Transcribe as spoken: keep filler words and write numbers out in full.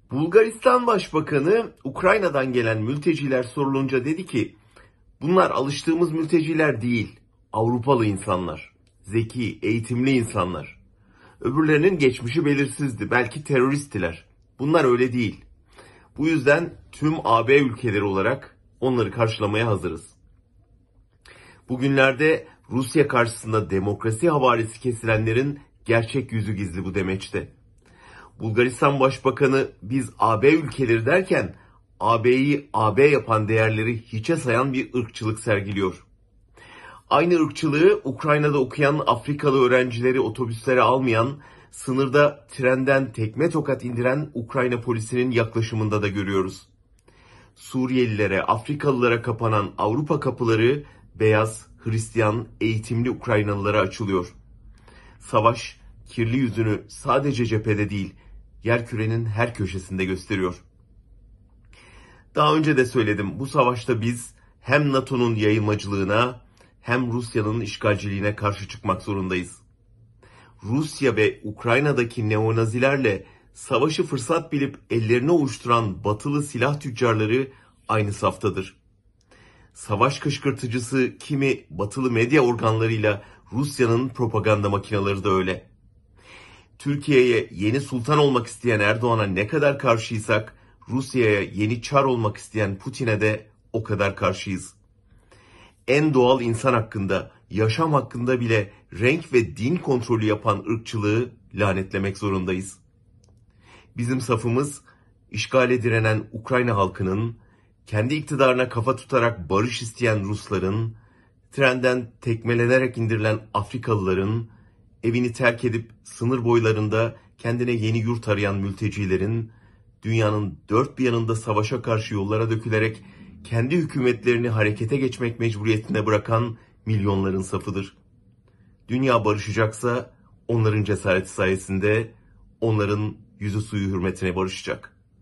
Bulgaristan Başbakanı Ukrayna'dan gelen mülteciler sorulunca dedi ki, bunlar alıştığımız mülteciler değil, Avrupalı insanlar, zeki, eğitimli insanlar. Öbürlerinin geçmişi belirsizdi, belki teröristtiler. Bunlar öyle değil. Bu yüzden tüm A B ülkeleri olarak onları karşılamaya hazırız. Bugünlerde Rusya karşısında demokrasi havarisi kesilenlerin gerçek yüzü gizli bu demeçte. Bulgaristan Başbakanı biz A B ülkeleri derken A B'yi A B yapan değerleri hiçe sayan bir ırkçılık sergiliyor. Aynı ırkçılığı Ukrayna'da okuyan Afrikalı öğrencileri otobüslere almayan, sınırda trenden tekme tokat indiren Ukrayna polisinin yaklaşımında da görüyoruz. Suriyelilere, Afrikalılara kapanan Avrupa kapıları beyaz, Hristiyan, eğitimli Ukraynalılara açılıyor. Savaş kirli yüzünü sadece cephede değil, yerkürenin her köşesinde gösteriyor. Daha önce de söyledim, bu savaşta biz hem NATO'nun yayılmacılığına hem Rusya'nın işgalciliğine karşı çıkmak zorundayız. Rusya ve Ukrayna'daki neonazilerle savaşı fırsat bilip ellerini ovuşturan batılı silah tüccarları aynı saftadır. Savaş kışkırtıcısı kimi batılı medya organlarıyla Rusya'nın propaganda makineleri de öyle. Türkiye'ye yeni sultan olmak isteyen Erdoğan'a ne kadar karşıysak, Rusya'ya yeni çar olmak isteyen Putin'e de o kadar karşıyız. En doğal insan hakkında, yaşam hakkında bile renk ve din kontrolü yapan ırkçılığı lanetlemek zorundayız. Bizim safımız, işgale direnen Ukrayna halkının, kendi iktidarına kafa tutarak barış isteyen Rusların, trenden tekmelenerek indirilen Afrikalıların, evini terk edip sınır boylarında kendine yeni yurt arayan mültecilerin, dünyanın dört bir yanında savaşa karşı yollara dökülerek kendi hükümetlerini harekete geçmek mecburiyetine bırakan milyonların safıdır. Dünya barışacaksa onların cesareti sayesinde, onların yüzü suyu hürmetine barışacak.